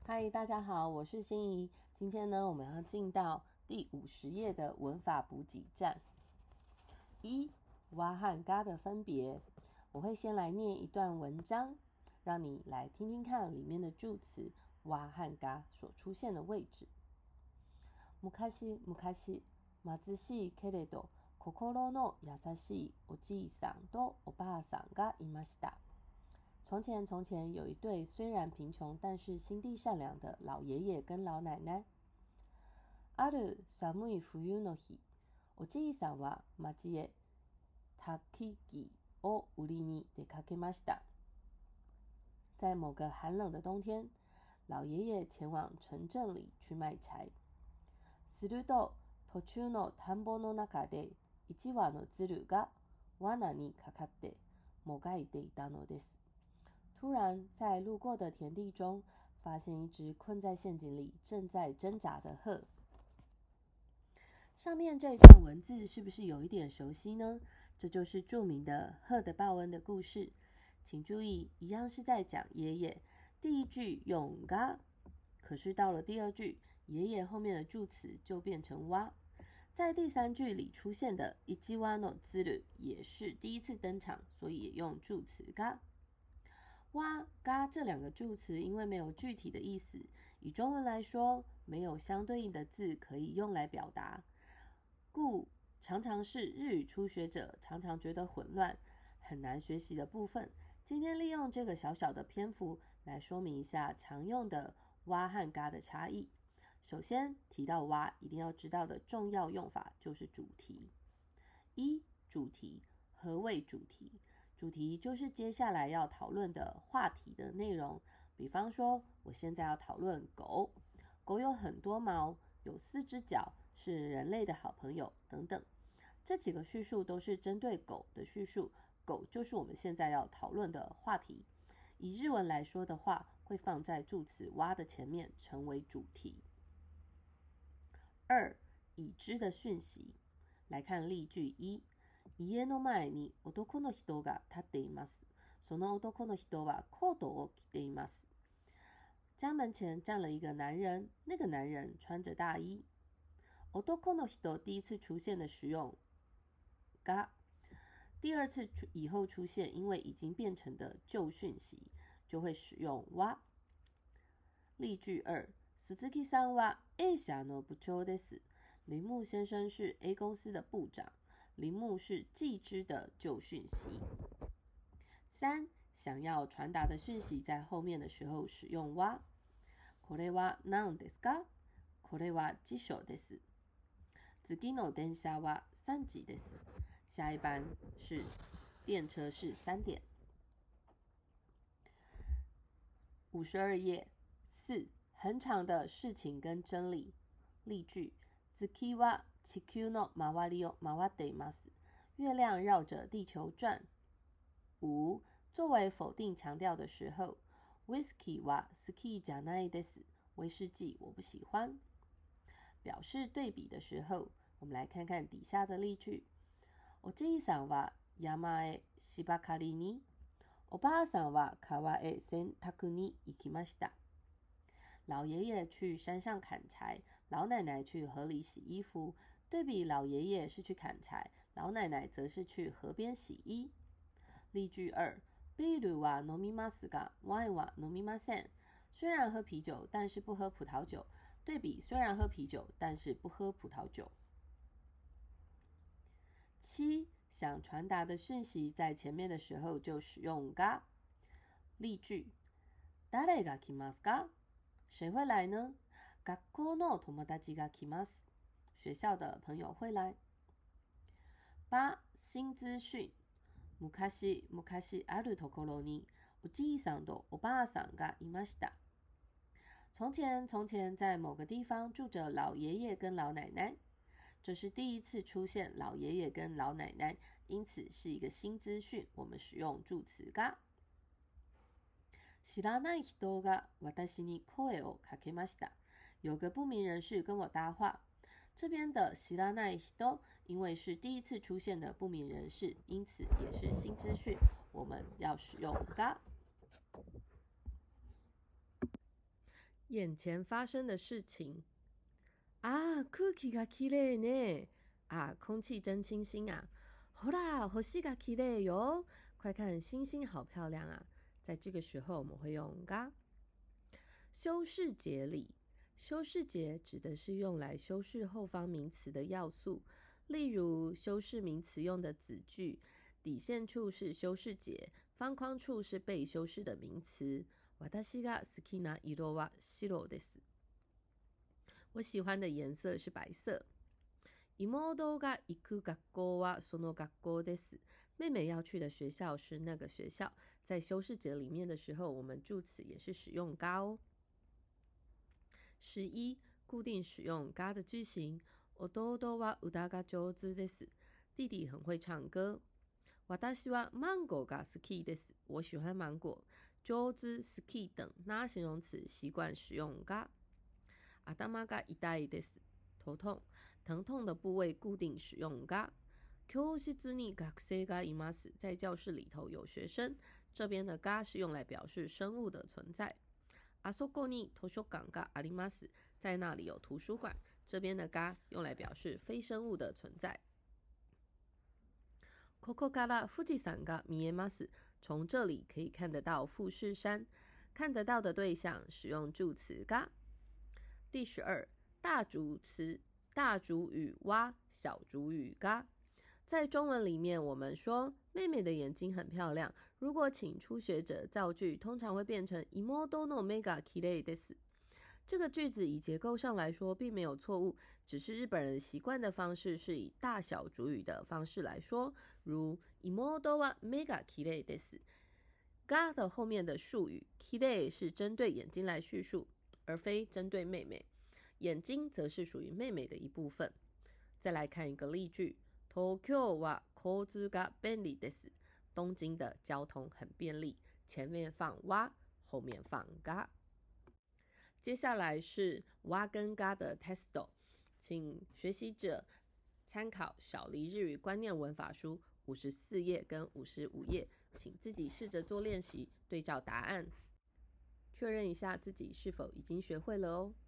嗨，大家好，我是心怡。今天呢，我们要进到第50页的文法补给站。哇和嘎的分别，我会先来念一段文章，让你来听听看里面的助词哇和嘎所出现的位置。昔々、貧しいけれど心の優しいおじいさんとおばあさんがいました。从前有一对虽然贫穷但是心地善良的老爷爷跟老奶奶。ある寒い冬の日、おじいさんは町へ焚き木を売りに出かけました。在某个寒冷的冬天，老爷爷前往城镇里去卖柴。すると途中の田んぼの中で1羽の鶴が罠にかかってもがいていたのです。突然，在路过的田地中，发现一只困在陷阱里、正在挣扎的鹤。上面这一段文字是不是有一点熟悉呢？这就是著名的鹤的报恩的故事。请注意，一样是在讲爷爷。第一句用が，可是到了第二句，爷爷后面的助词就变成哇。在第三句里出现的一羽の鶴也是第一次登场，所以也用助词が。哇、嘎这两个助词因为没有具体的意思，以中文来说，没有相对应的字可以用来表达，故常常是日语初学者常常觉得混乱、很难学习的部分。今天利用这个小小的篇幅来说明一下常用的哇和嘎的差异。首先提到哇，一定要知道的重要用法就是主题。主题，何谓主题？主题就是接下来要讨论的话题的内容。比方说，我现在要讨论狗，狗有很多毛，有4只脚，是人类的好朋友等等。这几个叙述都是针对狗的叙述，狗就是我们现在要讨论的话题。以日文来说的话，会放在助词哇的前面，成为主题。已知的讯息。来看例句1。家の前に男の人が立っています。その男の人はコートを着ています。家门前站了一个男人，那个男人穿着大衣。男の人第一次出现的使用が，第二次以后出现，因为已经变成的旧讯息，就会使用哇。例句2。鈴木さんは A 社の部長です。铃木先生是 A 公司的部長。铃木是既知的旧讯息。3. 想要传达的讯息在后面的时候使用哇。これは何ですか？これは辞書です。次の電車は3時です。下一班是电车是3点。52页4。很长的事情跟真理。例句。月は地球の周りを回っています。月亮绕着地球转。5. 作为否定强调的时候。ウイスキーは好きじゃないです。威士忌我不喜欢。表示对比的时候，我们来看看底下的例句。おじいさんは山へ芝刈りに、おばあさんは川へ洗濯に行きました。老爷爷去山上砍柴，老奶奶去河里洗衣服。对比老爷爷是去砍柴，老奶奶则是去河边洗衣。例句2。ビールは飲みますが、ワインは飲みません。虽然喝啤酒，但是不喝葡萄酒。对比虽然喝啤酒，但是不喝葡萄酒。7. 想传达的讯息在前面的时候就使用が。例句。誰が来ますか？谁会来呢？学校の友達が来ます。学校的朋友会来。8. 新资讯。昔あるところにおじいさんとおばあさんがいました。从前在某个地方住着老爺爺跟老奶奶。这是第一次出现老爷爷跟老奶奶，因此是一个新资讯，我们使用助词が。知らない人が私に声をかけました。有个不明人士跟我搭话。这边的知らない人，因为是第一次出现的不明人士，因此也是新资讯，我们要使用が。 眼前发生的事情。啊，空気がきれいね。啊，空气真清新啊。ほら、星がきれいよ。快看，星星好漂亮啊。在这个时候，我们会用が。修饰节里，修饰节指的是用来修饰后方名词的要素，例如修饰名词用的子句，底线处是修饰节，方框处是被修饰的名词。私が好きな色は白です。我喜欢的颜色是白色。妹が行く学校はその学校です。妹妹要去的学校是那个学校。在修饰节里面的时候，我们助词也是使用が哦。11. 固定使用が的句型。弟は歌が上手です。弟弟很会唱歌。私はマンゴーが好きです。我喜欢芒果。上手、好き等那形容詞習慣使用が。頭が痛いです。頭痛。疼痛的部位固定使用が。教室に学生がいます。在教室里头有学生。这边的が是用来表示生物的存在。あそこに図書館があります。在那里有图书馆。这边的が用来表示非生物的存在。ここから富士山が見えます。从这里可以看得到富士山。看得到的对象使用助词が。第12，大主词，大主语哇，小主语が。在中文里面，我们说妹妹的眼睛很漂亮。如果请初学者造句，通常会变成妹の目がきれいです。这个句子以结构上来说并没有错误，只是日本人习惯的方式是以大小主语的方式来说，如妹は目がきれいです。が的后面的术语きれい是针对眼睛来叙述，而非针对妹妹。眼睛则是属于妹妹的一部分。再来看一个例句。東京は交通が便利です。东京的交通很便利。前面放哇，后面放が。接下来是哇跟が的 testo， 请学习者参考小黎日语观念文法书54页跟55页，请自己试着做练习，对照答案，确认一下自己是否已经学会了哦。